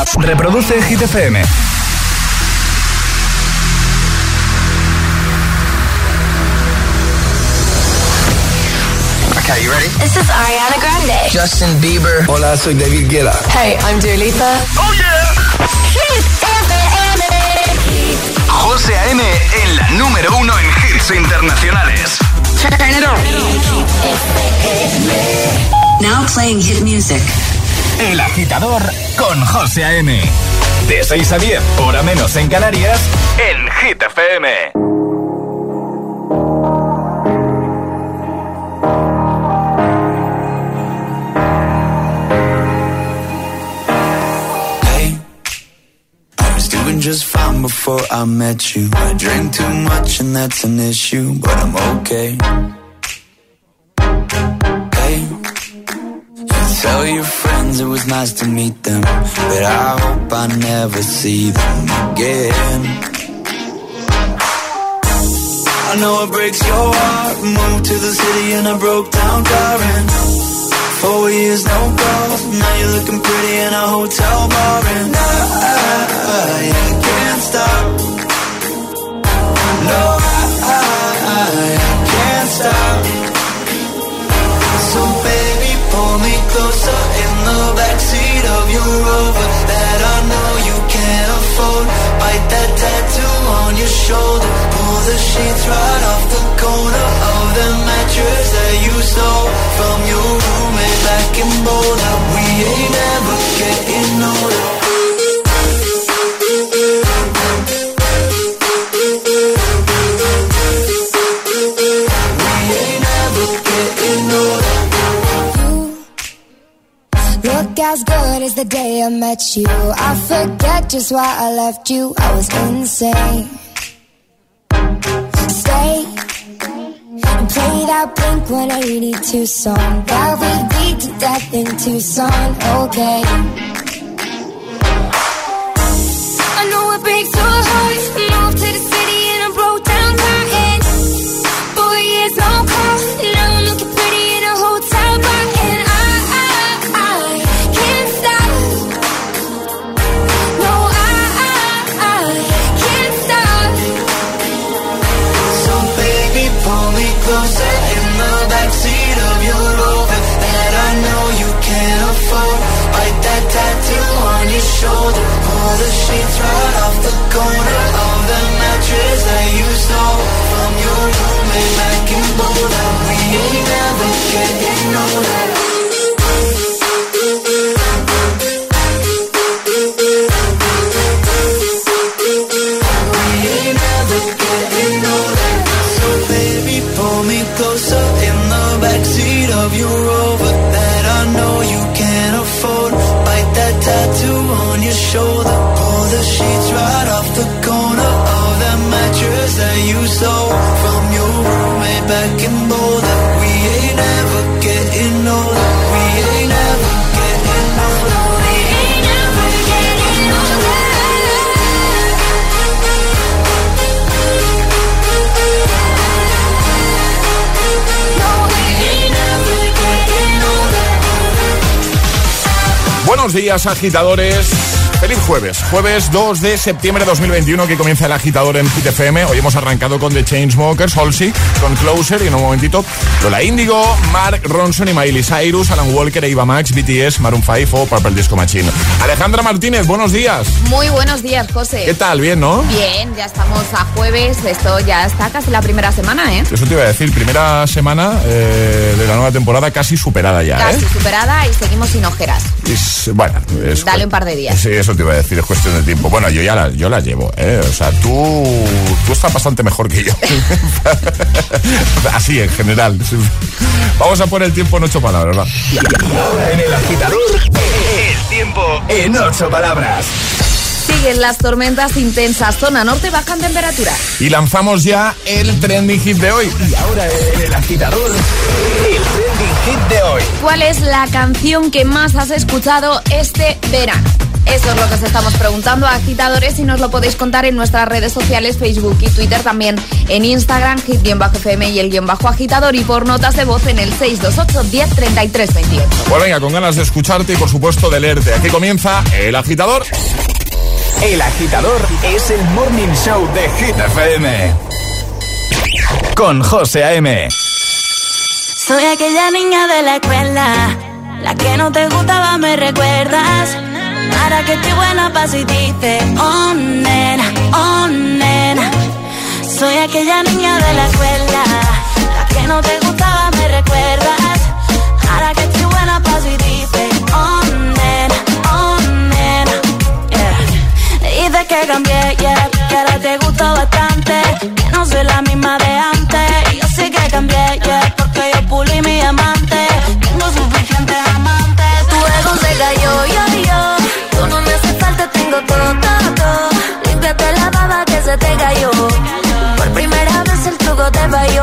Reproduce Hit FM. Okay, you ready? This is Ariana Grande. Justin Bieber. Hola, soy David Guetta. Hey, I'm Dua Lipa. Oh yeah. Hit FM. José A.M. en la número 1 en hits internacionales. Turn it on. Now playing hit music. El Agitador con José A.M. De 6 a 10, hora menos en Canarias, en Hit FM. Just fine before I met you. I drink too much and that's an issue, but I'm okay. Hey, you tell your friends it was nice to meet them, but I hope I never see them again. I know it breaks your heart. Moved to the city and I broke down crying. 4 years, no calls. Now you're looking pretty in a hotel bar, and I can't stop. No, I can't stop. So baby, pull me closer in the backseat of your Rover that I know you can't afford. Bite that tattoo on your shoulder. Pull the sheets right off the corner of the mattress that you stole from your roommate back in Boulder. We ain't never getting older. Look as good as the day I met you. I forget just why I left you. I was insane. Stay and play that Blink-182 song that we beat to death in Tucson. Okay. I know it breaks your heart. Moved to the city and I broke down crying. 4 years, no call. Now I'm looking pretty in a hotel bar, and I can't stop. No, I can't stop. So baby, pull me closer in the backseat of your Rover that I know you can't afford. Bite that tattoo on your shoulder. Pull the sheets right off the corner of the mattress that you stole from your roommate back in Boulder. We ain't never getting older. We ain't never getting older. So baby, pull me closer in the backseat of your Rover that I know you can't afford. Bite that tattoo on your shoulder. Pull the sheets right off the corner of that mattress that you stole from your roommate back in Boulder. We ain't never getting older. We ain't never getting older. We ain't never getting older. No, we ain't never getting older. Buenos días, agitadores. Feliz jueves, jueves 2 de septiembre de 2021, que comienza el Agitador en Hit FM. Hoy hemos arrancado con The Chainsmokers, Halsey, con Closer, y en un momentito Lola Índigo, Mark Ronson y Miley Cyrus, Alan Walker, Eva Max, BTS, Maroon 5 o Purple Disco Machine. Alejandra Martínez, buenos días. Muy buenos días, José. ¿Qué tal? ¿Bien, no? Bien, ya estamos a jueves, esto ya está casi la primera semana, ¿eh? Eso te iba a decir, primera semana de la nueva temporada casi superada ya, Casi superada y seguimos sin ojeras. Bueno, dale un par de días. Sí, eso te iba a decir, es cuestión de tiempo. Bueno, yo la llevo, O sea, tú estás bastante mejor que yo. Así, en general. Vamos a poner el tiempo en 8 palabras, va. En el Agitador, el tiempo en 8 palabras. Siguen las tormentas intensas. Zona norte bajan temperaturas. Y lanzamos ya el trending hit de hoy. Y ahora en el agitador, el trending hit de hoy. ¿Cuál es la canción que más has escuchado este verano? Eso es lo que os estamos preguntando, agitadores, y nos lo podéis contar en nuestras redes sociales, Facebook y Twitter, también en Instagram, hit_fm y el _agitador, y por notas de voz en el 628 10 33 28. Pues venga, con ganas de escucharte y por supuesto de leerte. Aquí comienza El Agitador. El Agitador es el morning show de Hit FM. Con José A.M. Soy aquella niña de la escuela, la que no te gustaba, me recuerdas. Ahora que estoy buena paso y dice, oh nena, oh nena. Soy aquella niña de la escuela, la que no te gustaba, me recuerdas. Ahora que estoy buena paso y dice, oh nena, oh nena. Yeah. Dices que cambié, yeah, que ahora te gusto bastante, que no soy la misma de antes. Y yo sé que cambié, yeah, porque yo pulí mi amante. Tengo suficientes amantes. Tu ego se cayó, yo. Tú no me hace falta, tengo todo. Límpiate la baba que se te cayó. Por primera vez el truco te falló.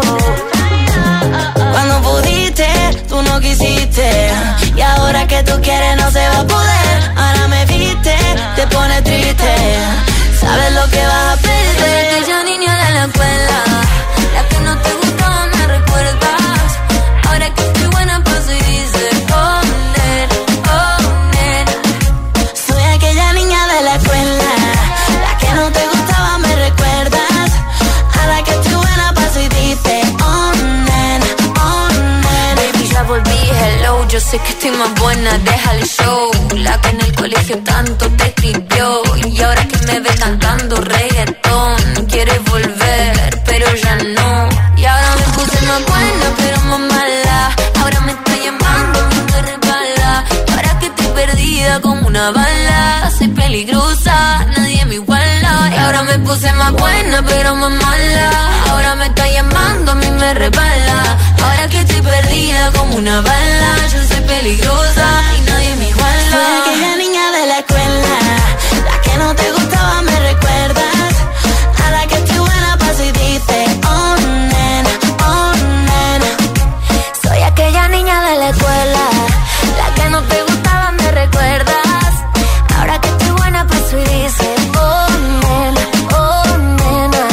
Cuando pudiste, tú no quisiste. Y ahora que tú quieres no se va a poder. Ahora me viste, te pone triste. Sabes lo que vas a perder. Aquella niña de la escuela, la que no te gustaba, me recuerdas. Ahora que estoy buena paso y dices, oh nena, oh nena. Soy aquella niña de la escuela, la que no te gustaba, me recuerdas. Ahora que estoy buena paso y dices, oh nena, oh nena. Baby, ya volví, hello, yo sé que estoy más buena, deja el show. La que en el colegio tanto te escribió, y ahora que me ves cantando reggaetón, quieres volver, pero ya no. Y ahora me puse más buena, pero más mala. Ahora me está llamando, me resbala. Ahora que estoy perdida como una bala. Soy peligrosa, nadie me iguala. Y ahora me puse más buena, pero más mala. Ahora me está llamando, a mí me resbala. Ahora que estoy perdida como una bala. Yo soy peligrosa y nadie me iguala. Soy aquella niña de la escuela, la que no te gustaba, me recuerdas. Ahora que estoy buena paso y dice, oh nena, oh nena. Soy aquella niña de la escuela, la que no te gustaba, me recuerdas. Ahora que estoy buena paso y dice, oh nena, oh nena.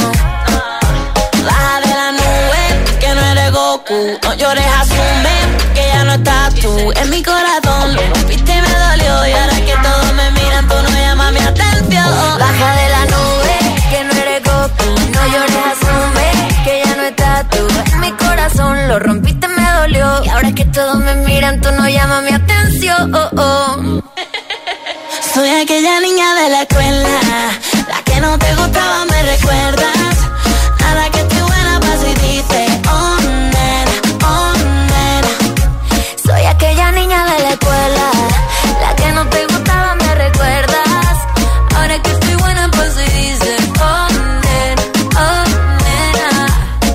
Baja de la nube, que no eres Goku. No llores, asume que ya no estás tú. En mi corazón lo rompiste y me dolió. Y ahora que todos me miran, tú no llamas mi atención. Baja de la nube, que no eres Goku. No llores, asume que ya no estás tú. En mi corazón lo rompiste, me dolió. Y ahora que todos me miran, tú no llamas mi atención. Soy aquella niña de la escuela, la que no te gustaba, me recuerdas. Ahora que estoy buena paso y dice, oh nena, oh nena. Soy aquella niña de la escuela, la que no te gustaba, me recuerdas. Ahora que estoy buena paso y dice, oh nena, oh nena.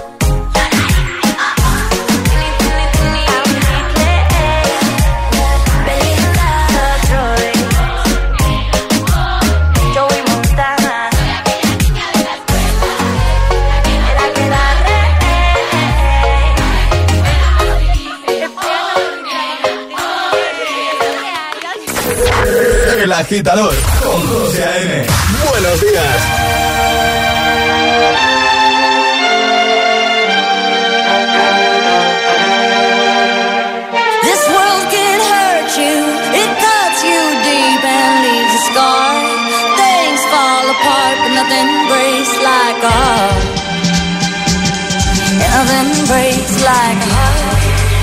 Joey Montana. El Agitador con José A.M. Buenos días. This world can hurt you, it cuts you deep and leaves a scar. Things fall apart, but nothing breaks like a heart. Nothing breaks like a heart.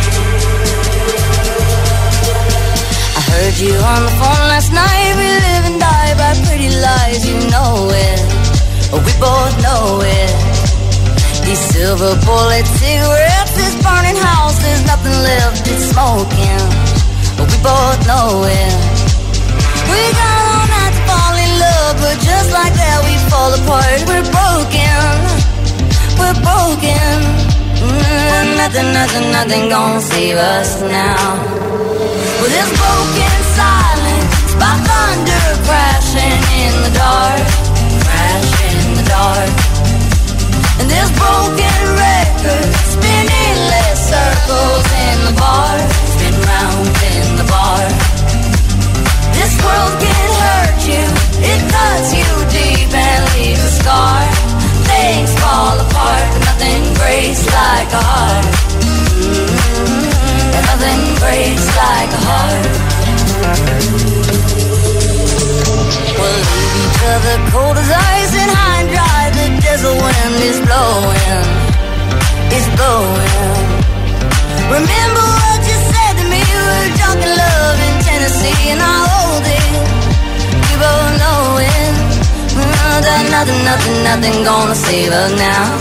I heard you on the phone last night. We live and die by pretty lies, you know it. We both know it. These silver bullet cigarettes, this burning house, there's nothing left, it's smoking. We both know it. We got all night to fall in love, but just like that we fall apart. We're broken, we're broken. Nothing gonna save us now. With this broken silence, by thunder crashing in the dark. Nothing gonna save us now.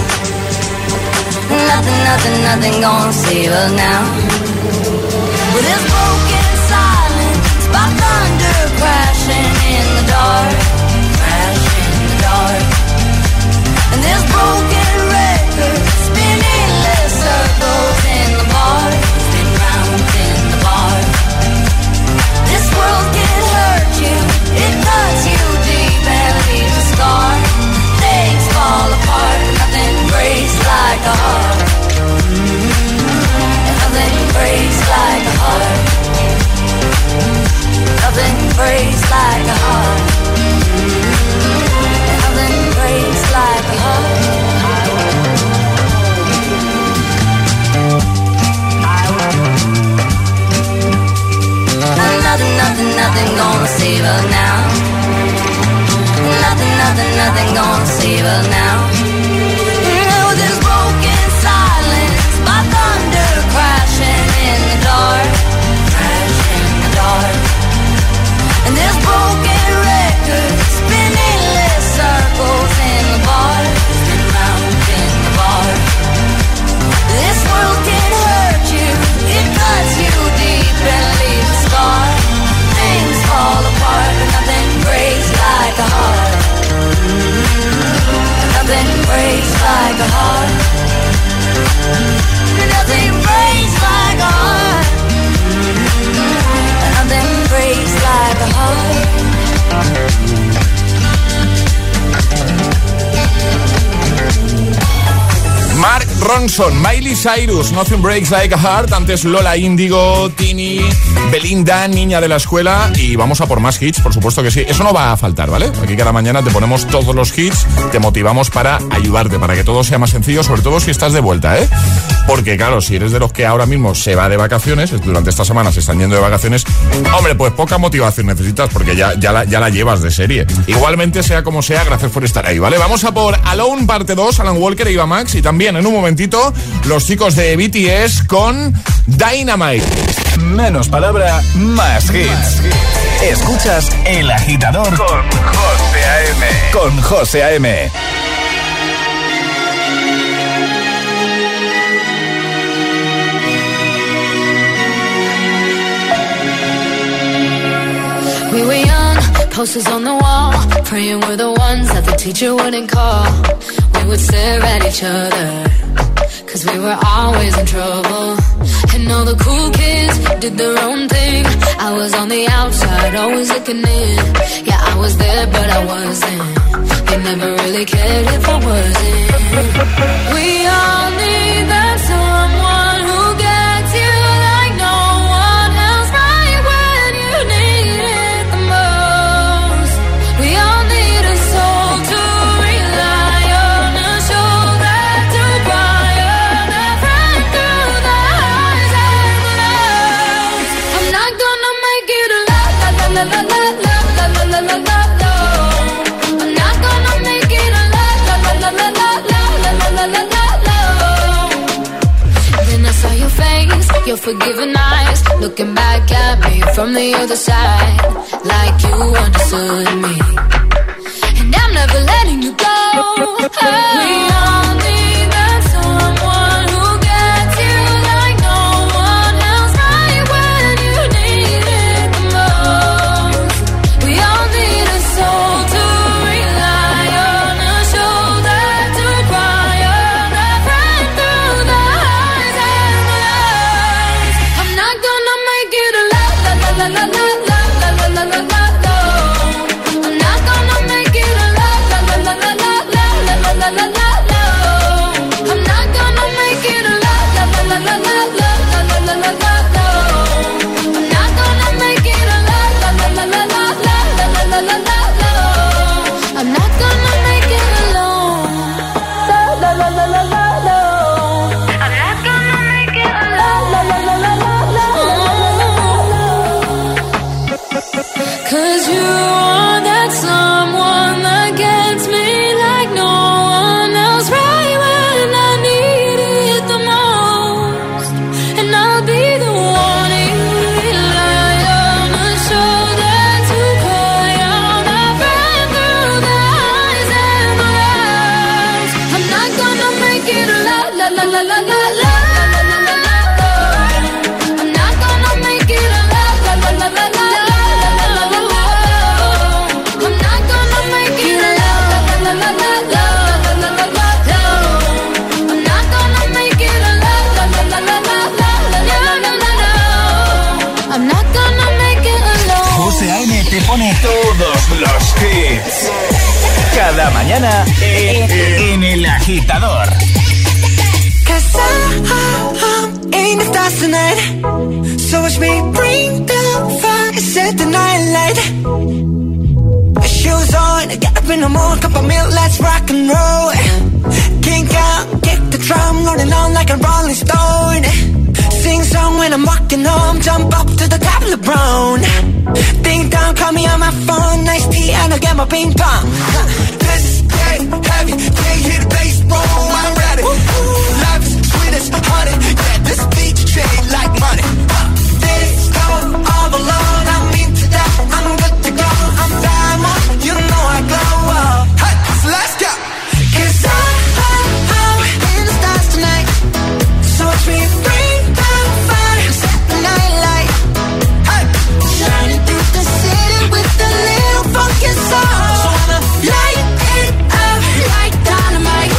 Nothing gonna save us now. With this broken silence, by thunder crashing in the dark, crashing in the dark. And this broken record spinning less circles in the bar, spin round in the bar. This world can hurt you, it cuts you deep and leaves a scar. Things fall apart, nothing breaks like a heart. Nothing breaks like a heart. Nothing breaks like a heart. Nothing breaks like a heart. Nothing gonna save us now. Nothing gonna save us now. With this broken silence, by thunder crashing in the dark, crashing in the dark. And this broken record spinning less circles in the bar, spin round in the bar. This world can hurt you, it cuts you deep and leaves a scar. Things fall apart, but nothing breaks like a heart. Nothing breaks like a heart. Nothing breaks like a heart. Nothing breaks like a heart. Mark Ronson, Miley Cyrus, Nothing Breaks Like a Heart. Antes Lola Índigo, Tini, Belinda, Niña de la Escuela. Y vamos a por más hits, por supuesto que sí. Eso no va a faltar, ¿vale? Aquí cada mañana te ponemos todos los hits, te motivamos para ayudarte, para que todo sea más sencillo, sobre todo si estás de vuelta, ¿eh? Porque claro, si eres de los que ahora mismo se va de vacaciones, durante esta semana se están yendo de vacaciones, hombre, pues poca motivación necesitas, porque ya la llevas de serie. Igualmente, sea como sea, gracias por estar ahí, ¿vale? Vamos a por Alone parte 2, Alan Walker e Eva Max, y también en un momentito los chicos de BTS con Dynamite. Menos palabra, más hits. Escuchas El Agitador con José A.M. Con José A.M. We were young, posters on the wall, praying we're the ones that the teacher wouldn't call. We would stare at each other, cause we were always in trouble. And all the cool kids did their own thing. I was on the outside, always looking in. Yeah, I was there, but I wasn't. They never really cared if I wasn't. We all need that someone who gets you like no one else, right when you need it the most. We all need a soul to rely on, a shoulder to cry on, a friend through the highs and the lows. I'm not gonna make it a la la la la la la la la la la la la. I'm not gonna make it a la la la la la la la la la la la la. Then I saw your face, your forgiving eyes, looking back at me from the other side, like you understood me. And I'm never letting you go. We all need that someone who gets you like no one else, right when you need it the most. We all need a soul to rely on, a shoulder to cry on, a friend through the highs and the lows. I'm not gonna make it a la la la la la la la la la la la la. I'm Todos los hits. Cada mañana en El Agitador. 'Cause I'm in the stars tonight. So watch me bring the fire, set the night light. Shoes on, get up in the morning, cup of milk, let's rock and roll. Kink out, kick the drum, rolling on like a rolling stone. Sing song when I'm walking home, jump up to the top of the brown. Ding dong, call me on my phone, nice tea and I'll get my ping pong. This is getting heavy, can't hear the bass, boom, I'm ready. Life is sweet as honey, yeah, this beat chain like money. This go all alone, I'm into that, I'm good to go, I'm diamond, you know I glow. Hey, so let's go. 'Cause I'm in the stars tonight, so watch me bring the fire, set the night light. Hey, shining through the city with a little funky soul. So I'ma light it up like dynamite.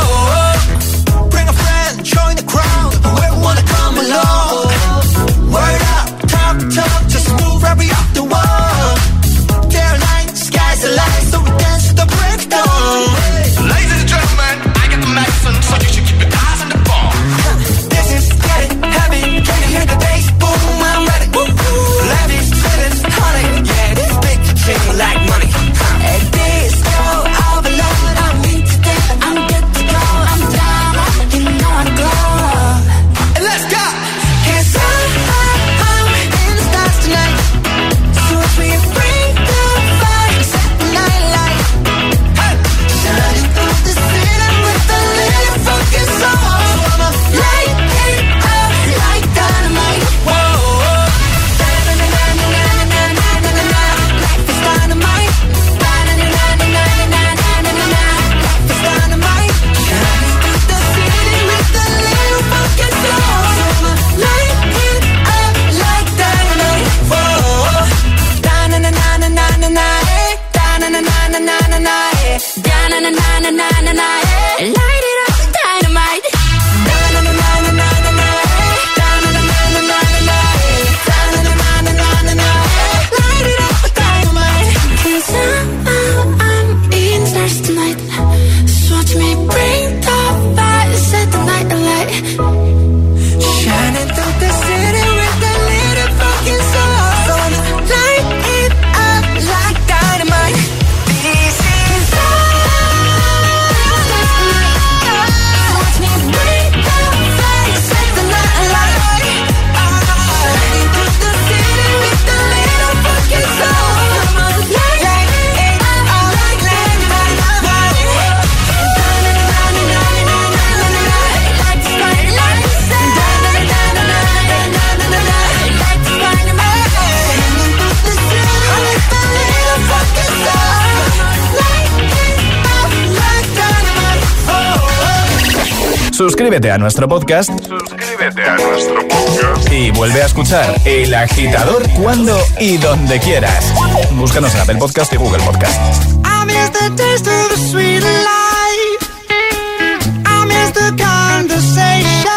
Whoa, bring a friend, join the crowd, whoever wanna come along. Word up, talk, just move right off the wall. Caroline, sky's the light, so we dance to the break of dawn. Ladies and gentlemen, I got the medicine, so you should keep your eyes on the ball. This is getting heavy, can you hear the bass? Boom, I'm ready. Life is sweet as honey, yeah, this big chain like money. And this go all alone, I'm into that, I'm good to go, I'm down, you know I glow. And let's go. 'Cause I'm in the stars tonight, so watch me bring the fire, set the night light. Hey, shining through the city with a little funky soul. So I'ma light it up like dynamite. Whoa, na-na-na-na-na-na-na-na-na-na. Life is dynamite. Na-na-na-na-na-na-na-na-na-na. Life is dynamite. Shining through the city with a little funky soul. So I'ma light it up like dynamite. Whoa, da-na-na-na-na-na-na-na, eh. Da-na-na-na-na-na-na-na, eh. Da-na-na-na-na-na-na, eh. Light it up, dynamite. Da-na-na-na-na-na-na, eh. Da-na-na-na-na-na-na, eh. Da-na-na-na-na-na-na, eh. Light it up, dynamite. 'Cause I'm in the stars tonight, so watch me bring the fire, set the night alight. Shining through the city with a little fucking soul. So light it up like dynamite. This is watch me bring the fire, set the night alight. Shining through the city with a little fucking soul. Light it up like dynamite. Suscríbete a nuestro podcast. Y vuelve a escuchar El Agitador cuando y donde quieras. Búscanos en Apple Podcast y Google Podcast. I miss the taste of the sweet life. I miss the conversation.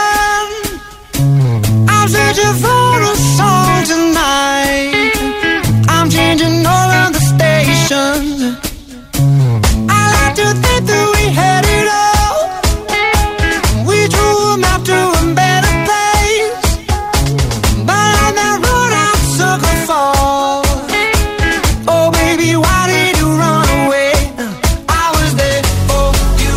I'm searching for a song tonight. I'm changing all of the stations. I like to think that we had it all. We drew a map to a better place. But on that road I'm sucker for. Oh baby, why did you run away? I was there for you.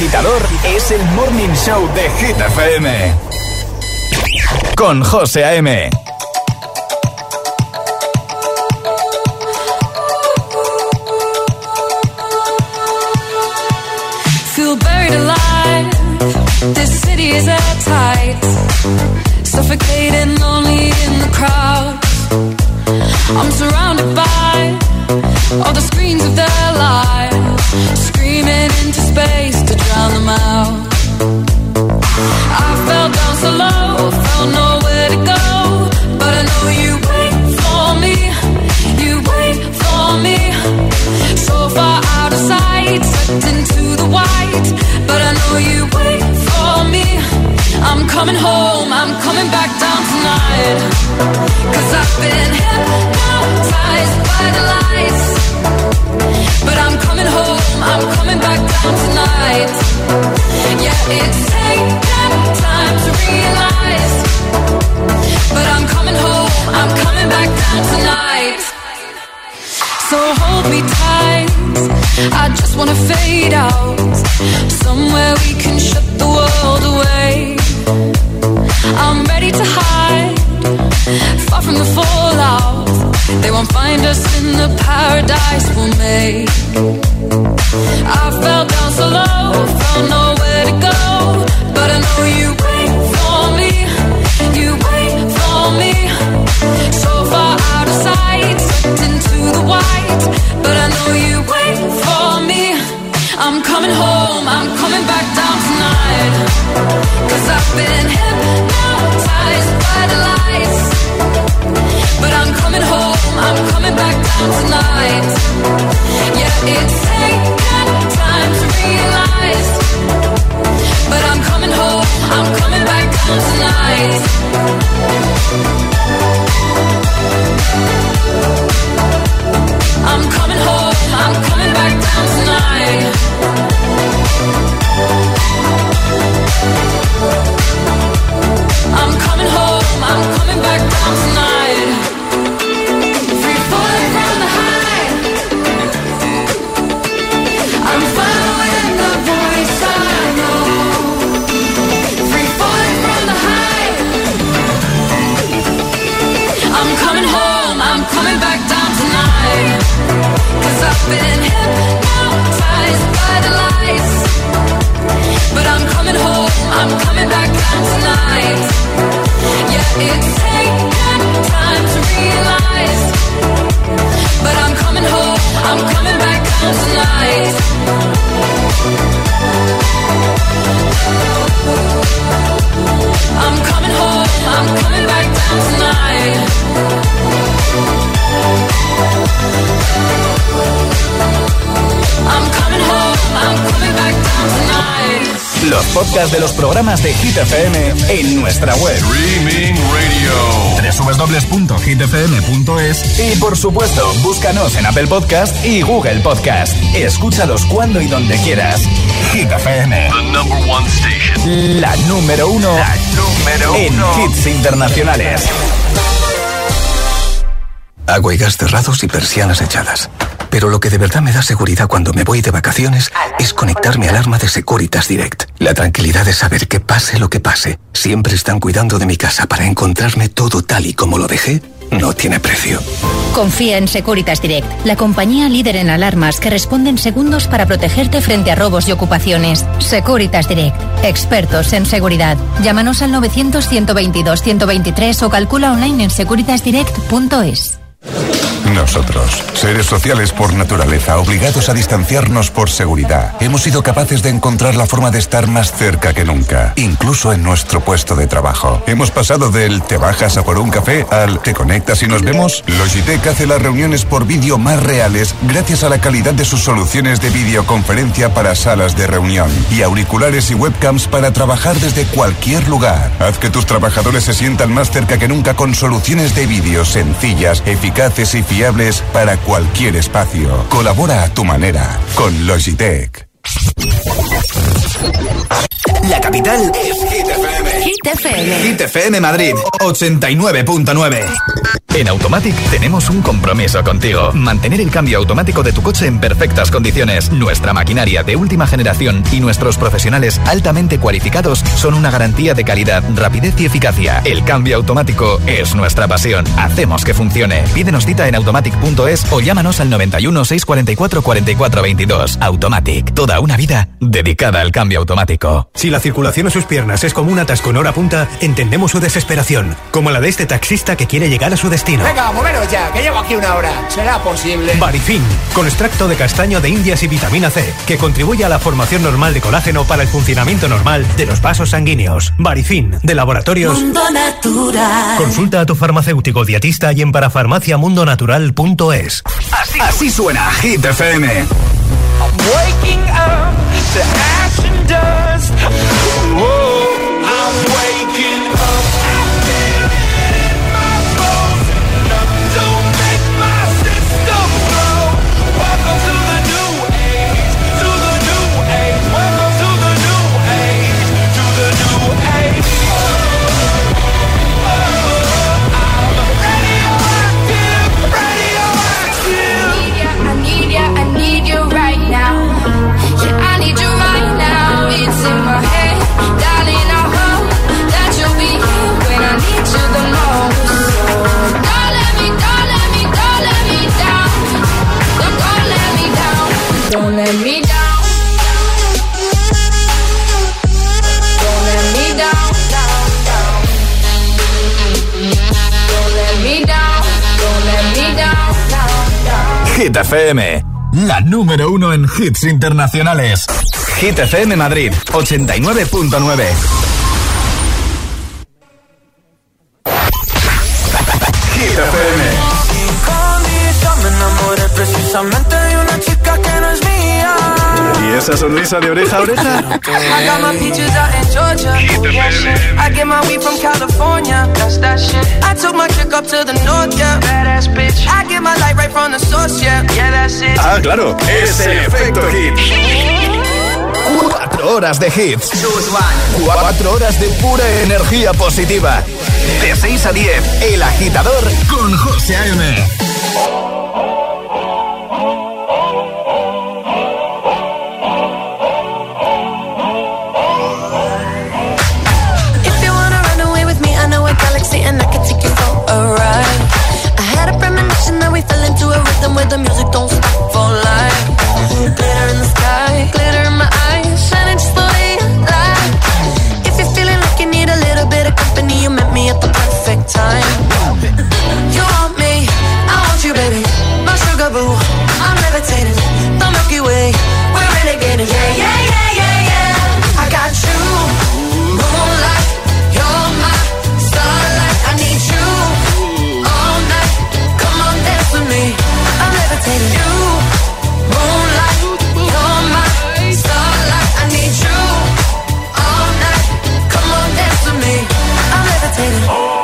agitador es el Morning Show de Hit FM. Con José A.M. Feel buried alive. This city is airtight. Suffocating, lonely in the crowd. I'm surrounded by all the screens of their lives, screaming into space to drown them out. I fell down so low, felt nowhere to go, but I know you wait for me, you wait for me. So far out of sight, sucked into the white, but I know you wait for me. I'm coming home, I'm coming back down tonight, 'cause I've been hypnotized by the lights, but I'm coming home, I'm coming back down tonight. Yeah, it's taken time to realize, but I'm coming home, I'm coming back down tonight. So hold me tight, I just wanna fade out, somewhere we can shut the world away. I'm ready to hide, far from the fallout. They won't find us in the paradise we'll make. I fell down so low, found nowhere to go, but I know you wait for me, you wait for me. So far out of sight, sucked into the white, but I know you wait for me. I'm coming home, I'm coming back down tonight, 'cause I've been hypnotized by the lights, but I'm coming home, I'm coming back down tonight. Yeah, it's taken time to realize, but I'm coming home, I'm coming back down tonight. I'm coming home, I'm coming back down tonight. I'm coming home, I'm coming back down tonight. Free falling from the high, I'm following the voice I know. Free falling from the high, I'm coming home, I'm coming back down tonight, 'cause I've been hypnotized by the lights, but I'm coming home, I'm coming back down tonight. Yeah, it's taken time to realize, but I'm coming home, I'm coming back down tonight. I'm coming home, I'm coming back down tonight. I'm coming home, I'm coming back down tonight. Los podcasts de los programas de Hit FM en nuestra web. Streaming Radio. www.hitfm.es. Y por supuesto, búscanos en Apple Podcast y Google Podcast. Escúchalos cuando y donde quieras. Hit FM. The number one station. La número uno en hits internacionales. Agua y gas cerrados y persianas echadas. Pero lo que de verdad me da seguridad cuando me voy de vacaciones es conectar mi alarma de Securitas Direct. La tranquilidad de saber que pase lo que pase, siempre están cuidando de mi casa para encontrarme todo tal y como lo dejé, no tiene precio. Confía en Securitas Direct, la compañía líder en alarmas que responde en segundos para protegerte frente a robos y ocupaciones. Securitas Direct, expertos en seguridad. Llámanos al 900-122-123 o calcula online en securitasdirect.es. Nosotros, seres sociales por naturaleza, obligados a distanciarnos por seguridad, hemos sido capaces de encontrar la forma de estar más cerca que nunca, incluso en nuestro puesto de trabajo. Hemos pasado del "te bajas a por un café" al "te conectas y nos vemos". Logitech hace las reuniones por vídeo más reales gracias a la calidad de sus soluciones de videoconferencia para salas de reunión y auriculares y webcams para trabajar desde cualquier lugar. Haz que tus trabajadores se sientan más cerca que nunca con soluciones de vídeo sencillas, eficaces y fiables para cualquier espacio. Colabora a tu manera con Logitech. La capital es Hit FM. Hit FM. Hit FM Madrid 89.9. En Automatic tenemos un compromiso contigo. Mantener el cambio automático de tu coche en perfectas condiciones. Nuestra maquinaria de última generación y nuestros profesionales altamente cualificados son una garantía de calidad, rapidez y eficacia. El cambio automático es nuestra pasión. Hacemos que funcione. Pídenos cita en automatic.es o llámanos al 91 644 44 22. Automatic. Toda una vida dedicada al cambio automático. Si la circulación en sus piernas es como un atasco en hora punta, entendemos su desesperación. Como la de este taxista que quiere llegar a su destino. Venga, moveros ya, que llevo aquí una hora. ¿Será posible? Barifin, con extracto de castaño de indias y vitamina C, que contribuye a la formación normal de colágeno para el funcionamiento normal de los vasos sanguíneos. Barifin, de Laboratorios Mundo Natural. Consulta a tu farmacéutico dietista y en parafarmaciamundonatural.es. Así suena Hit FM. I'm waking up to ash and dust. Whoa, I'm waking up. Don't let me down. Don't let me down, down, down. Don't let me down. Don't let me down, down, down. Hit FM, la número 1 en hits internacionales. Hit FM Madrid, 89.9. Hit FM. Me enamoré precisamente de una chica que no es mía. ¿Y esa sonrisa de oreja a oreja? I got my peaches out in Georgia. I get my weed from California. That's that shit. I took my chick up to the north, yeah. Badass bitch. I get my light right from the source, yeah. Yeah, that's it. Ah, claro, es el efecto hit. 4 horas de hits. 4 horas de pura energía positiva. De 6 a 10, El Agitador con José A.M. And I can take you for a ride. I had a premonition that we fell into a rhythm where the music don't stop for life. Glitter in the sky, glitter in my eyes, shining just the way you like. If you're feeling like you need a little bit of company, you met me at the perfect time. You want me, I want you, baby. My sugar boo, I'm levitating. The Milky Way, we're renegading. Yeah, yeah, yeah, yeah, yeah. I got you, moonlight, you're my starlight. I need you all night. Come on, dance with me. I'm levitating. You, moonlight, you're my starlight. I need you all night. Come on, dance with me. I'm levitating.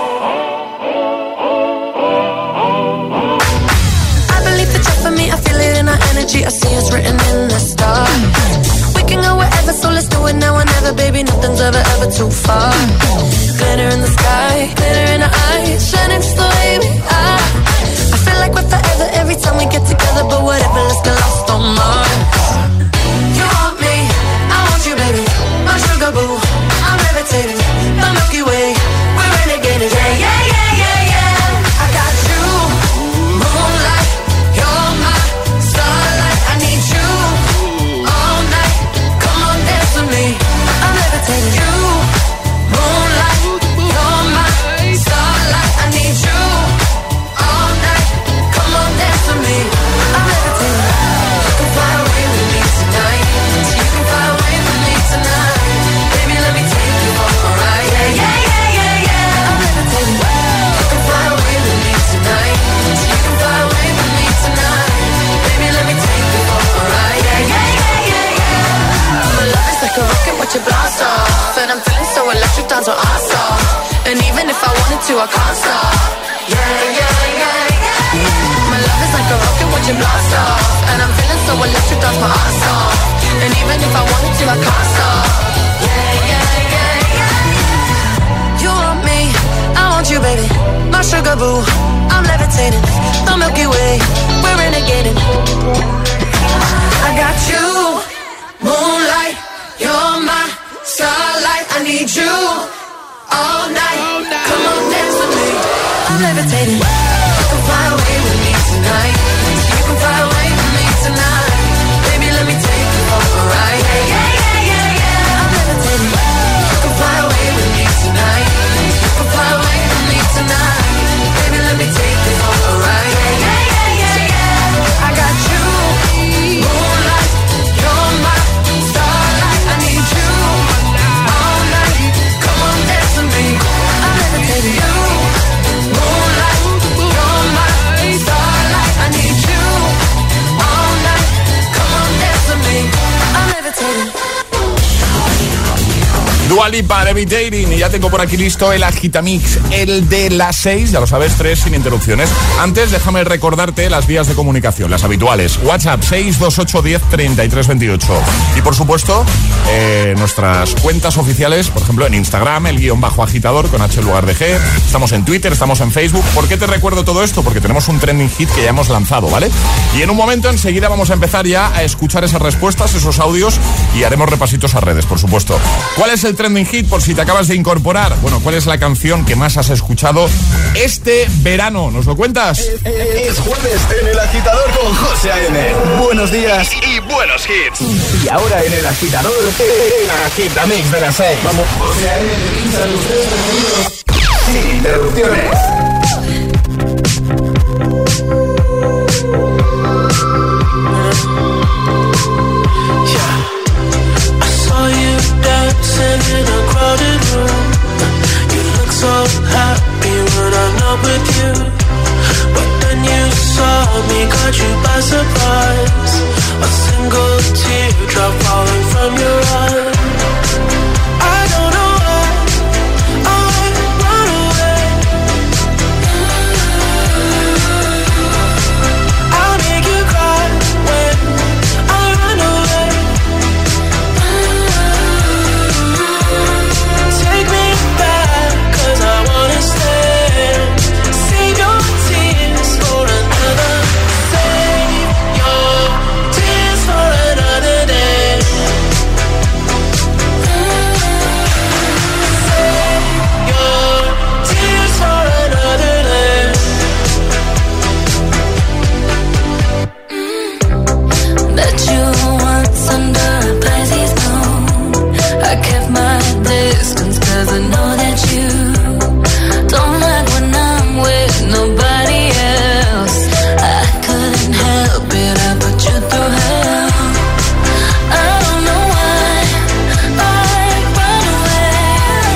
I believe that you're for me. I feel it in our energy. I see it's written in the stars. We can go wherever, so let's do it now or never, baby. Nothing's ever, ever too far. Glitter in the sky, glitter in our eyes, shining just the way we are. I feel like we're forever every time we get together, but whatever, let's get lost on Mars. You want me, I want you, baby. My sugar boo, I'm levitating. The Milky Way, we're renegading. Yeah, yeah, yeah, yeah, yeah. I got you, moonlight, you're my starlight. I need you all night. Come on, dance with me. I'm levitating. You, moonlight, you're my starlight. I need you all night. Come on, dance with me. I'm levitating. You can fly away with me tonight. You can fly away with me tonight. Baby, let me take you for a ride. Yeah, yeah, yeah, yeah, yeah. I'm levitating. You can fly away with me tonight. You can fly away with me tonight. Baby, let me take you for a ride. Yeah, yeah, yeah, yeah, yeah. My love is like a rocket, watch it blast off. And I'm feeling so electric, dance on our off. And even if I wanted to, I can't stop. Yeah, yeah, yeah, yeah. My love is like a rocket, watch it blast off. And I'm feeling so electric, dance my ass off. And even if I wanted to, I can't stop. Yeah, yeah, yeah, yeah. You want me, I want you, baby. My sugar boo, I'm I'm levitating, the Milky Way, we're renegading. I got you, moonlight, you're my starlight. I need you all night. Come on, dance with me. I'm levitating. You can fly away with me tonight. You can fly away with me tonight. Baby, let me take you for a ride. Yeah, yeah, yeah, yeah. I'm levitating. You can fly away with me tonight. You can fly away with me tonight. Baby, let me take you for a ride. Yeah, yeah, yeah, yeah. I got you, moonlight, you're my starlight. I need you all night. Come on, dance with me. I'm levitating. You, moonlight, you're my starlight. I need you all night. Come on, dance with me. I'm levitating. Dua Lipa, Levitating. Y ya tengo por aquí listo el Agitamix, el de las 6, ya lo sabes, 3 sin interrupciones. Antes, déjame recordarte las vías de comunicación, las habituales. WhatsApp 628 10 33 28. Y por supuesto, nuestras cuentas oficiales, por ejemplo, en Instagram, el _agitador con H en lugar de G. Estamos en Twitter, estamos en Facebook. ¿Por qué te recuerdo todo esto? Porque tenemos un trending hit que ya hemos lanzado, ¿vale? Y en un momento, enseguida, vamos a empezar ya a escuchar esas respuestas, esos audios, y haremos repasitos a redes, por supuesto. ¿Cuál es el trending hit por si te acabas de incorporar? Bueno, ¿cuál es la canción que más has escuchado este verano? ¿Nos lo cuentas? Es jueves en El Agitador con José A.M. Buenos días y buenos hits. Y ahora en El Agitador, el Agitamix de las 6. Vamos, José A.M. sin interrupciones. Dancing in a crowded room. You look so happy when I'm not with you. But then you saw me, caught you by surprise. A single teardrop falling from your eye. I don't know why I run away. I'll make you cry when I run away. Take me back, 'cause I wanna stay. Save your tears for another. Save your tears for another day. Save your tears for another day. Bet you once under a Pisces moon. I kept my distance 'cause I know that you don't like when I'm with nobody else. I couldn't help it, I put you through hell. I don't know why I run away.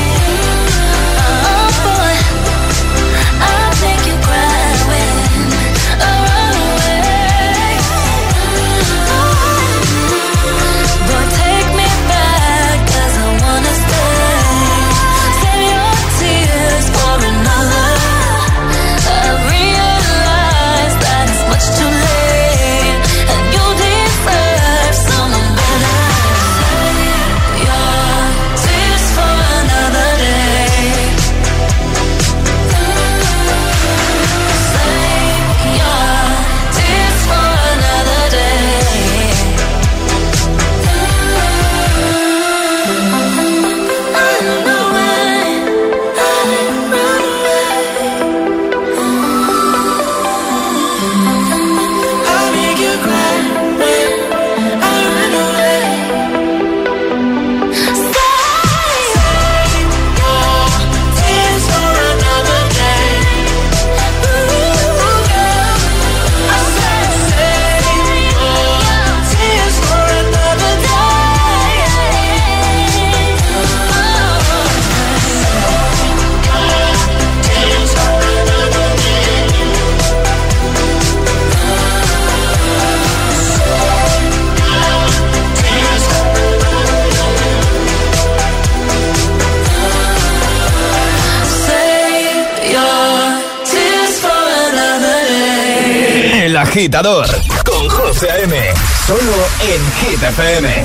Oh boy, I'll make you cry when I run away. But take me back, 'cause I wanna stay. Save your tears for another. I realize that it's much too late, and you deserve someone better. Save your tears for another day. Save your tears for another day. I don't know why I run away. I'll make you cry when I run away. Save your tears for another day. Ooh, girl, I said save your tears for another day. Tears for another Save your tears for another day. El Agitador con José A.M. Solo en Hit FM.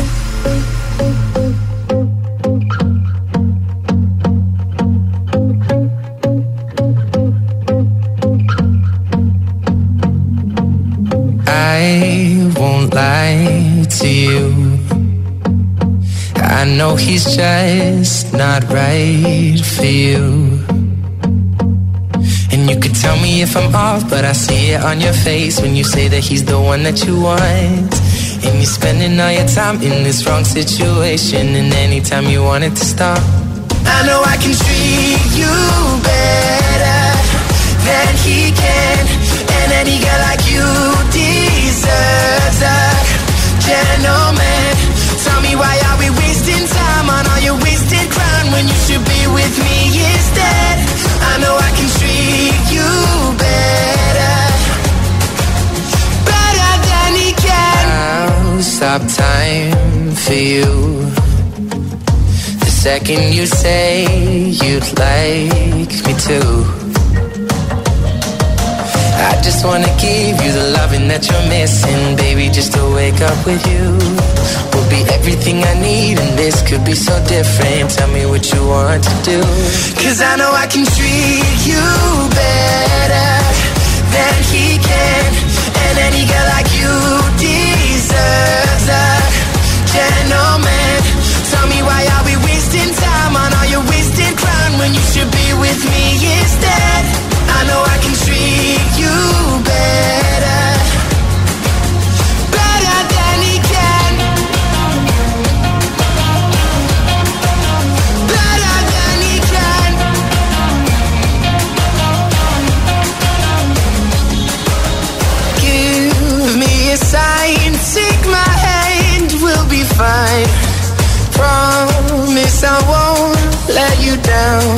lie to you. I know he's just not right for you. And you could tell me if I'm off, but I see it on your face when you say that he's the one that you want. And you're spending all your time in this wrong situation, and anytime you want it to stop, I know I can treat you better than he can. And any girl like you deserves a gentleman. Tell me, why are we wasting time on all your wasted crown when you should be with me instead? I know I can treat you better, better than he can. I'll stop time for you the second you say you'd like me to. I just wanna give you the loving that you're missing, baby, just to wake up with you will be everything I need, and this could be so different. Tell me what you want to do, 'cause I know I can treat you better than he can. And any girl like you deserves a gentleman. Tell me, why are we wasting time on all your wasted crown when you should be with me instead? I know I can treat you better, better than he can, better than he can. Give me a sign, take my hand, we'll be fine. Promise I won't let you down.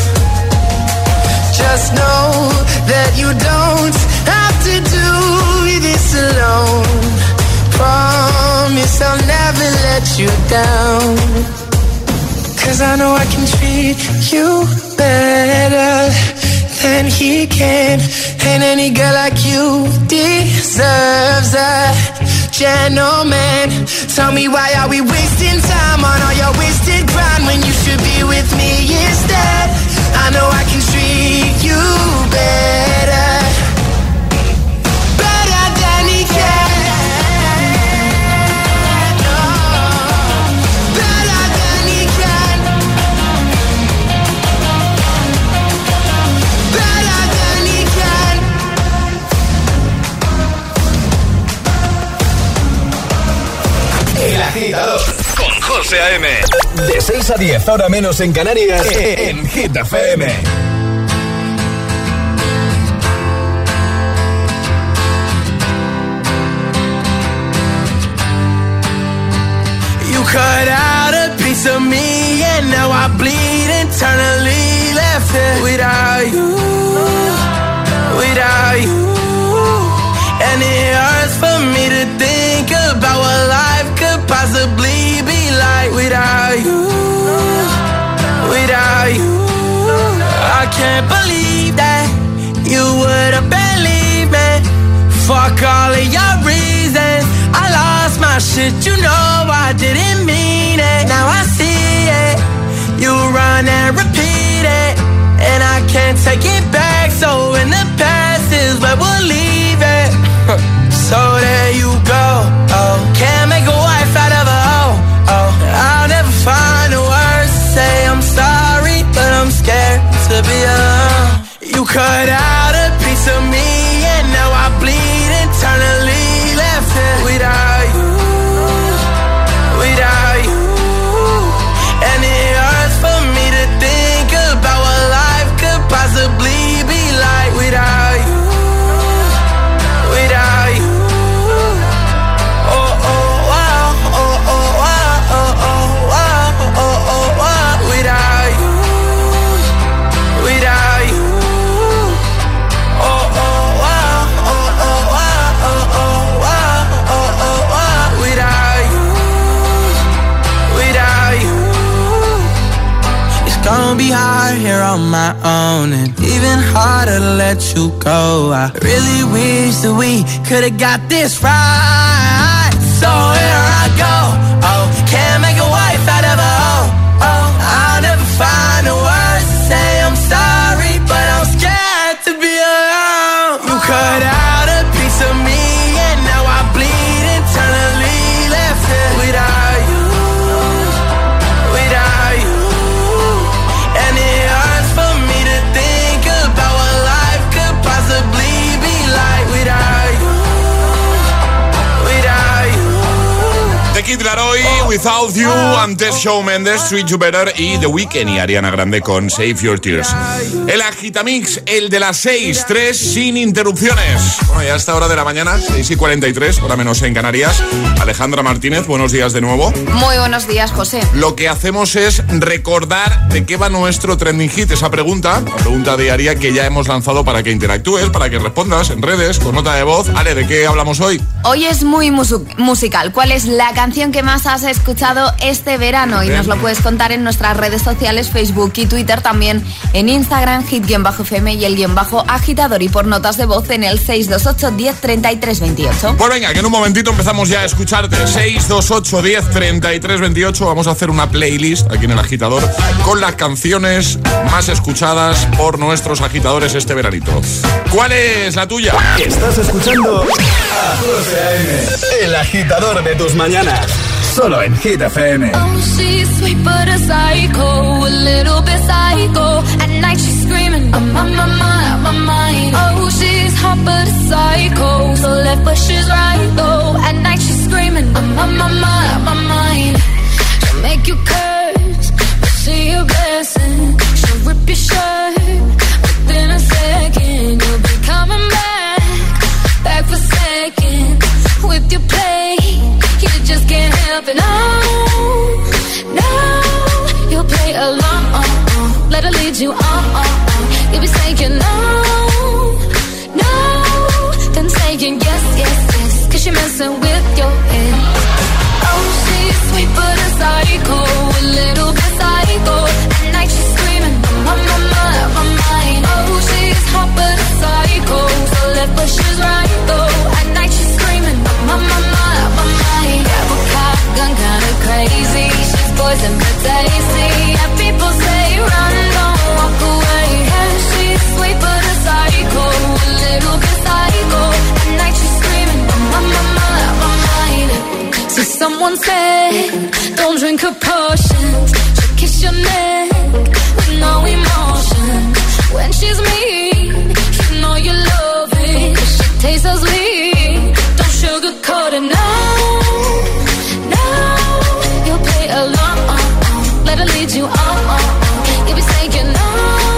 Just know that you don't have to do this alone. Promise I'll never let you down. 'Cause I know I can treat you better than he can. And any girl like you deserves a gentleman. Tell me, why are we wasting time on all your wasted grind when you should be with me instead? I know I can treat you better, better than he can. Oh, better than he can, better than he can. El Agitador con José A.M. De 6 a 10, ahora menos en Canarias, en Hit FM. You cut out a piece of me, and now I bleed internally. Left it without you, without you. And it hurts for me to think about what life could possibly be like without you, without you. I can't believe that you would have believed me. Fuck all of your reasons, I lost my shit, you know I didn't mean it. Now I see it, you run and repeat it, and I can't take it back. So in the past is where we'll leave it. So there you go, oh, can't make a wife out of a hoe, oh, I'll never find the words to say I'm sorry, but I'm scared to be alone. You cut out a piece of me, and now I bleed internally. Left it without you, without you. And it hurts for me to think about what life could possibly be like without you, without you. Gonna be hard here on my own, and even harder to let you go. I really wish that we could've got this right. So here I go, oh, can't make a wife out of a hoe, oh, I'll never find the words to say I'm sorry, but I'm scared to be alone. You cut out a piece of me, and now I bleed internally. Kid Laroi, Without You, antes Shawn Mendes, Treat You Better y The Weeknd y Ariana Grande con Save Your Tears. El Agitamix, el de las 6, 3 sin interrupciones. Bueno, ya a esta hora de la mañana, 6:43, hora menos en Canarias. Alejandra Martínez, buenos días de nuevo. Muy buenos días, José. Lo que hacemos es recordar de qué va nuestro trending hit, esa pregunta, la pregunta diaria que ya hemos lanzado para que interactúes, para que respondas en redes, con nota de voz. Ale, ¿de qué hablamos hoy? Hoy es muy musical. ¿Cuál es la canción que más has escuchado este verano? Y nos lo puedes contar en nuestras redes sociales, Facebook y Twitter, también en Instagram, hit_fm y el _agitador, y por notas de voz en el 628 10 33 28. Pues venga, que en un momentito empezamos ya a escucharte. 628 10 33 28. Vamos a hacer una playlist aquí en el Agitador con las canciones más escuchadas por nuestros agitadores este veranito. ¿Cuál es la tuya? Estás escuchando a José A.M., el agitador de tus mañanas, solo en Hit FM. Oh, she's sweet but a psycho, a little bit psycho. At night she's screaming, I'm on my mind. Oh, she's hot but a psycho, so left but she's right though. At night she's screaming, I'm on my mind. She'll make you curse, but she a blessing. She'll rip your shirt within a second. You'll be coming back for seconds. With your play, you just can't help it. No, you'll play along. Let her lead you on. You'll be saying no, then saying yes, 'cause you're messing with your head. Oh, she's sweet but a psycho, a little bit psycho. At night she's screaming, I'm on my mind. Oh, she's hot but a psycho, so left but she's right though. At night she's screaming, I'm on my mind. Grab a cop, gun kinda crazy. She's poison but tasty. And people say run, don't walk away. And she's sweet but a psycho, a little bit psycho. At night she's screaming, I'm on my mind. So someone said, don't drink her potions. She'll kiss your neck with no emotion. When she's mean, you know you love it. 'Cause she tastes so sweet. Don't sugarcoat it, no. You'll play along. Let her lead you on. You'll be saying no.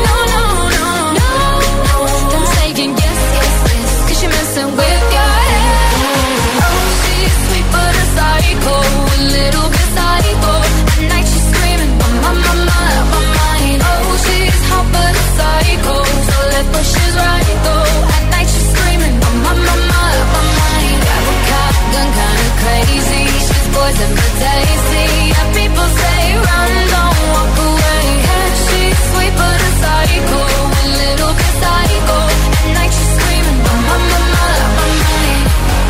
Then saying yes, 'cause you're messing with your head. Oh, she's sweet but a psycho, a little bit psycho. At night she's screaming, I'm on my mind. Oh, she's hot but a psycho, so left but she's right though. At night she's screaming, I'm on my mind. Grab a cop, gun kinda crazy. She's poison but tasty. And people say run, don't walk away. And she's sweet but a psycho, a little bit psycho. At night she's screaming, I'm on my mind.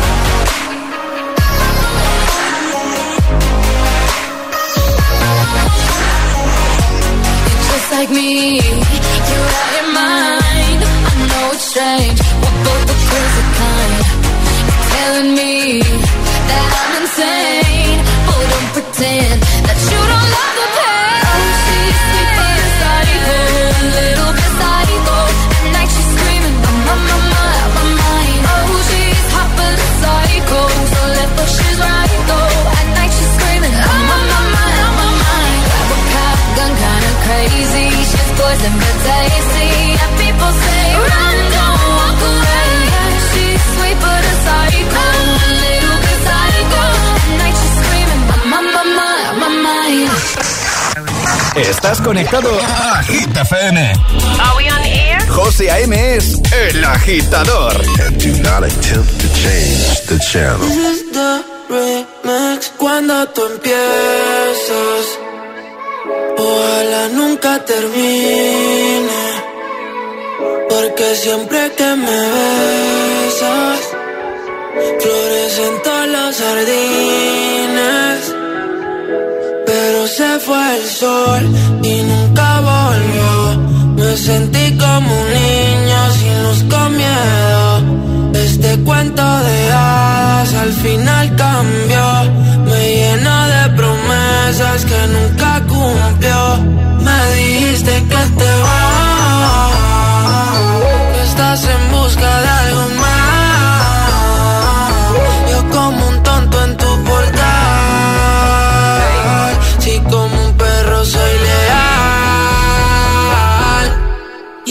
You're just like me, you're out your mind. I know it's strange, we're both the crazy kind. You're telling me that I'm insane, but don't pretend that you don't love the pain. Oh, she's sweet but a psycho, a little bit psycho. At night she's screaming, I'm on my mind. Oh, she's hot but a psycho, so left but she's right though. At night she's screaming, I'm on my mind. Grab a cop, gun kinda crazy. She's poison but tasty. And people say run, don't walk away. And she's sweet but a psycho, a little bit psycho. At night she's screaming, I'm on my mind. Estás conectado a Hit FM. Are we on air? José A.M. es el agitador. And do not attempt to change the channel. This is the remix. Cuando tú empiezas, ojalá nunca termine. Porque siempre que me besas, florecen todos los jardines. Pero se fue el sol y nunca volvió. Me sentí como un niño sin luz, con miedo. Este cuento de hadas al final cambió. Me llenó de promesas que nunca cumplió. Me dijiste que te vas, que estás en busca de algo más. Yo como un tonto en tu portal,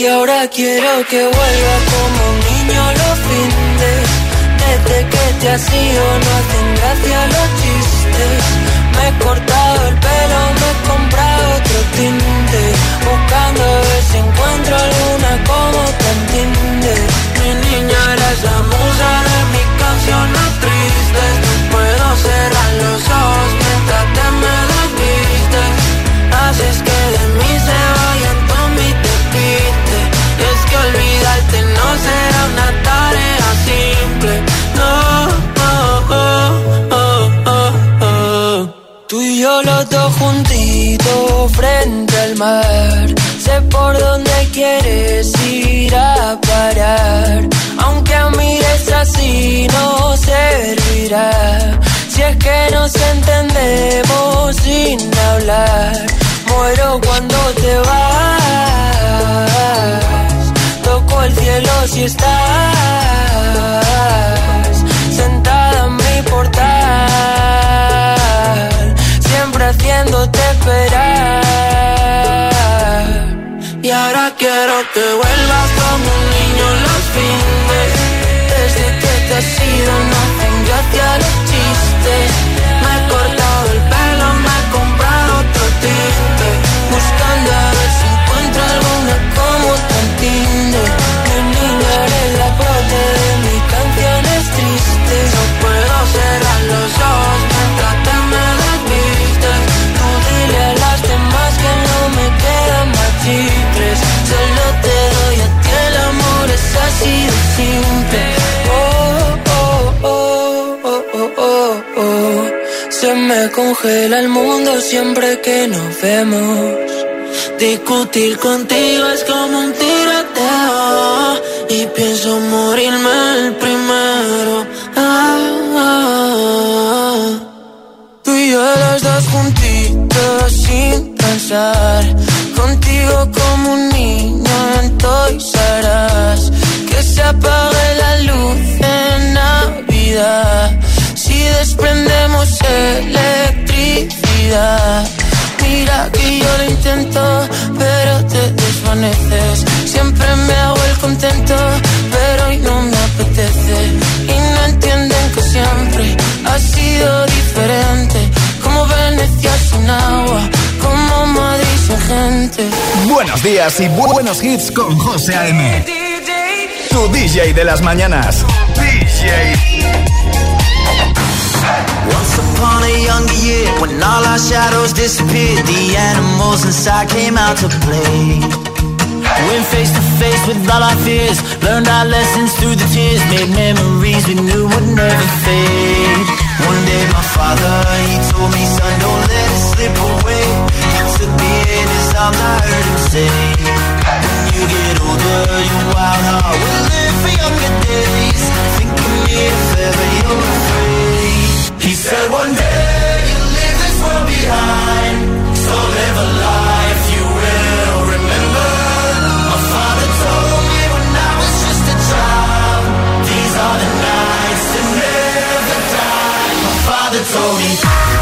Y ahora quiero que vuelva como un niño los fines. Desde que te has ido no hacen gracia los chistes. Me he cortado el pelo, me he comprado otro tinte, buscando a ver si encuentro alguna como te entiende. Mi niña eres la musa de mis canciones tristes. No puedo cerrar los ojos mientras te me desvistes. Haces que de mí se vayan todos mis despistes. Y es que olvidarte no será una tarea simple. No, Tú y yo los dos juntitos frente al mar. Sé por dónde quieres ir a parar. Aunque mires así no servirá. Si es que nos entendemos sin hablar. Muero cuando te vas. Toco el cielo si estás sentada en mi portal, siempre haciéndote esperar. Y ahora quiero que vuelvas como un niño los fines. Desde que te has ido no hacen gracia los chistes. Me he cortado el pelo, me he comprado otro tinte, buscando a ver si encuentro alguna como te entiende. Mi niña eres la prote de mis canciones tristes. No puedo cerrar los ojos mientras te me desvistes. Tú dile a las demás que no me quedan más chicles. Solo te doy a ti, el amor es así de simple. Se me congela el mundo siempre que nos vemos. Discutir contigo es como un tiroteo y pienso morirme el primero. Tú y yo los dos juntitos sin pensar. Contigo como un niño en Toys R Us. Que se apague la luz en Navidad si desprendemos electricidad. Mira que yo lo intento, pero te desvaneces. Siempre me hago el contento, pero hoy no me apetece. Y no entienden que siempre ha sido diferente. Como Venecia sin agua, como Madrid sin gente. Buenos días y buenos hits con José A.M. Tu DJ de las mañanas. DJ. Once upon a younger year, when all our shadows disappeared, the animals inside came out to play. Went face to face with all our fears, learned our lessons through the tears, made memories we knew would never fade. One day my father, he told me, son, don't let it slip away. He took me in his arms, I heard him say, when you get older, your wild heart will live for younger days. Think of me if ever you're afraid. He said one day you'll leave this world behind, so live a life you will remember. My father told me when I was just a child, these are the nights that never die. My father told me.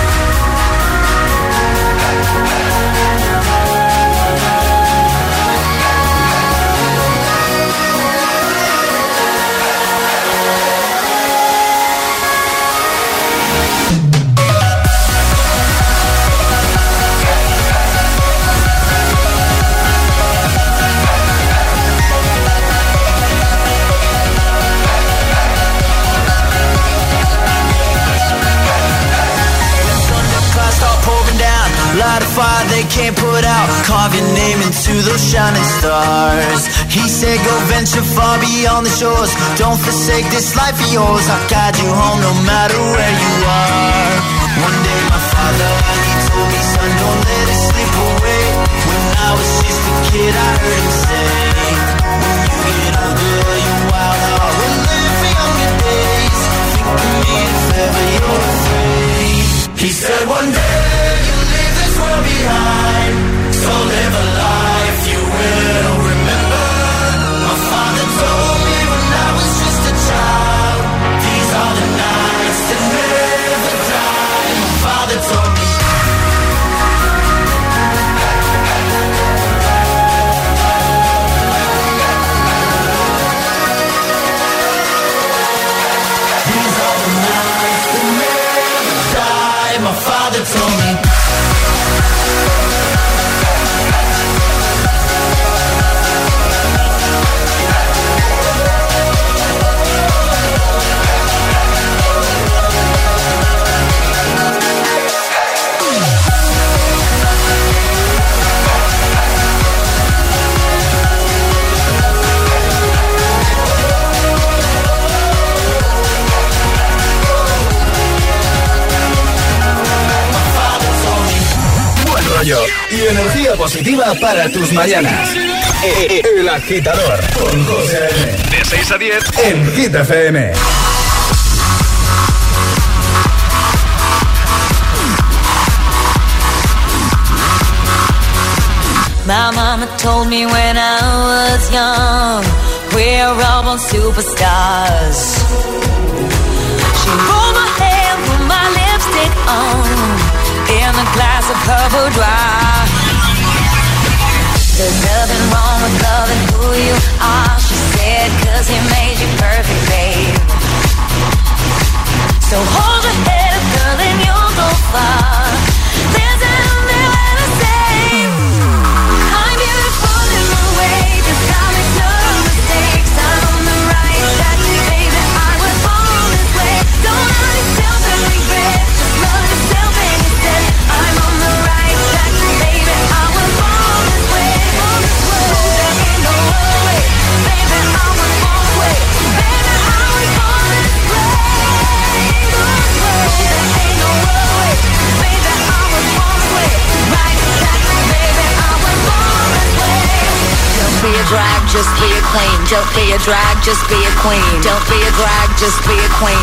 Light a fire they can't put out, carve your name into those shining stars. He said go venture far beyond the shores, don't forsake this life of yours. I'll guide you home no matter where you are. One day my father, he told me, son, don't let it slip away. When I was just a kid I heard him say, when you get older your wild heart will live for younger days. Think of me if ever you're afraid. He said one day behind, so live a life you will remember. My father told me when I was just a child, these are the nights that never die. My father told me. energía positiva para tus mañanas. El Agitador con José A.M. De 6 a 10 en Hit FM. My mama told me when I was young, we're all born superstars. She rolled my hair, put my lipstick on, in a glass of her boudoir. There's nothing wrong with loving who you are, she said, 'cause he made you perfect, babe. So hold your head up, girl, and you'll go far. There's nothing left to say. I'm beautiful in my way, just gotta make no mistakes. I'm on the right track, baby, I was born this way. Don't hurt yourself and regret, just love yourself and instead. I'm on the right track, baby, I was born this way. There ain't no other way, baby, I was born this way. Baby, I was born this way. There ain't no other way, baby, I was born this way. Right track, baby, I was born this way. Don't be a drag, just be a queen. Don't be a drag, just be a queen. Don't be a drag, just be a queen.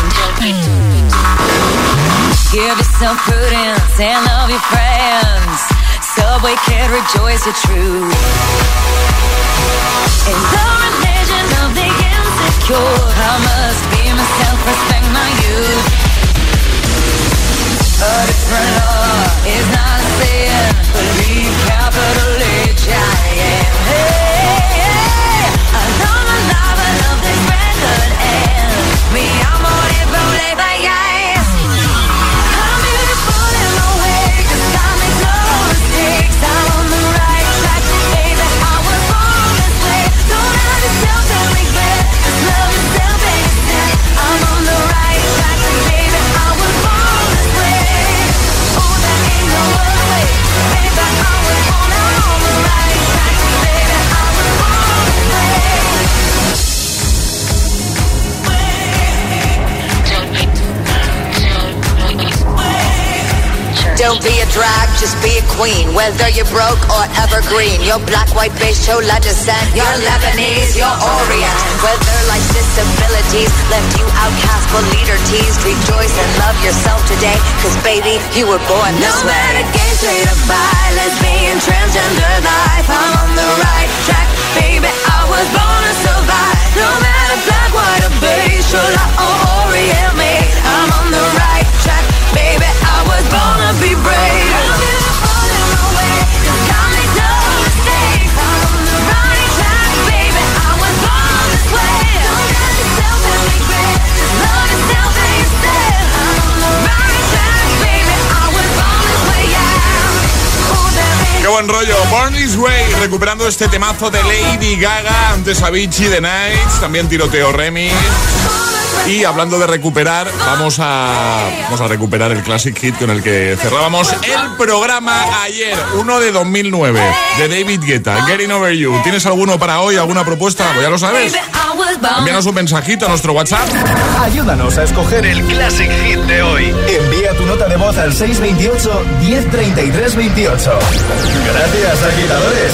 Give yourself prudence and love your friends. Subway kid, rejoice your truth. In the religion of the insecure, I must be myself, respect my youth. A different law is not a sin. Believe capital H, I am. Hey, hey. I love my life, I love this record, and me, I'm on it, rolling by eyes. I'm beautiful in my way, just I make no mistakes. I'm on the right track, baby, I was born this way. Don't hurt yourself and regret, just love yourself and instead. I'm on the right track, baby, I was born this way. Oh, there ain't no other way, baby, I was born on the right track, baby, I was born this way. Don't be a drag, just be a queen. Whether you're broke or evergreen, you're black, white, beige, chola descent, you're Lebanese, you're Orient. Whether life's disabilities left you outcast but leader teased, rejoice and love yourself today, 'cause baby, you were born this way. No matter gay, straight or bi, lesbian, transgender life, I'm on the right track, baby, I was born to survive. No matter black, white or beige, chola or Orient made, I'm on the right track, baby, I was born to be brave. I'm beautiful in my way, 'cause I make no mistakes. I'm on the right track, baby, I was born this way. Don't hurt yourself and regret, just love yourself instead. I'm on the right track, baby, I was born this way, yeah. Oh, there ain't Qué buen rollo, Born This Way, recuperando este temazo de Lady Gaga, antes Avicii, The Nights, también Tiroteo Remix. Y hablando de recuperar, vamos a recuperar el Classic Hit con el que cerrábamos el programa ayer, uno de 2009, de David Guetta, Getting Over You. ¿Tienes alguno para hoy, alguna propuesta? Pues ya lo sabes. Envíanos un mensajito a nuestro WhatsApp. Ayúdanos a escoger el Classic Hit de hoy. Envía tu nota de voz al 628 1033 28. Gracias, agitadores.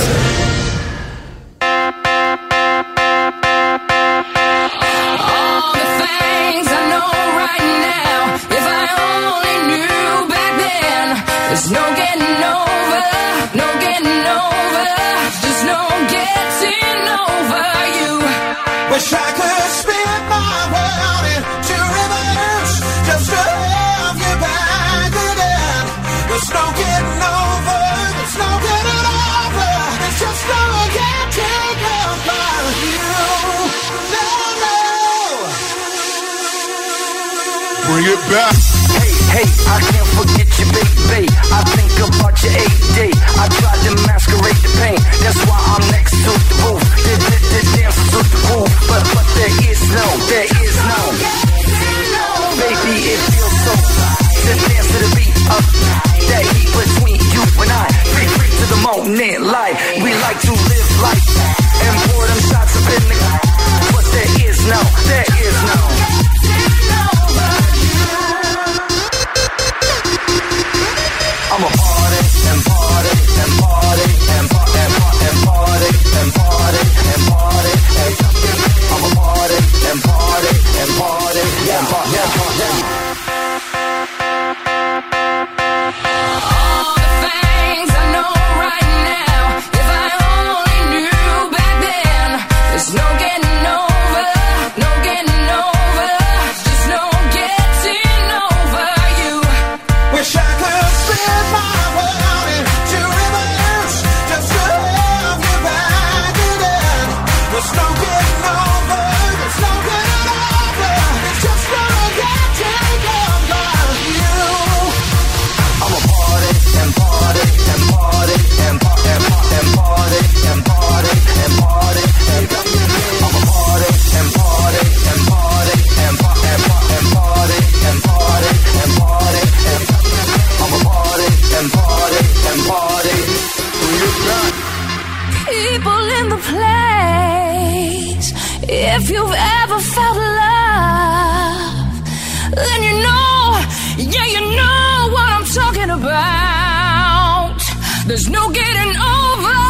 There's no getting over, no getting over, just no getting over you. Wish I could spin my world into reverse, just to have you back again. There's no getting over, there's no getting over, there's just no getting over you. No, no. Bring it back. Hey, I can't forget you, baby. I think about your AD. I tried to masquerade the pain. That's why I'm next to the roof. The dancers with the roof. But there is no. Baby, it feels so right to dance to the beat of that heat between you and I. Free to the moment, life. We like to live life and pour them shots up in the. But there is no. I'ma party and party and party If you've ever felt love, then you know, yeah, you know what I'm talking about. There's no getting over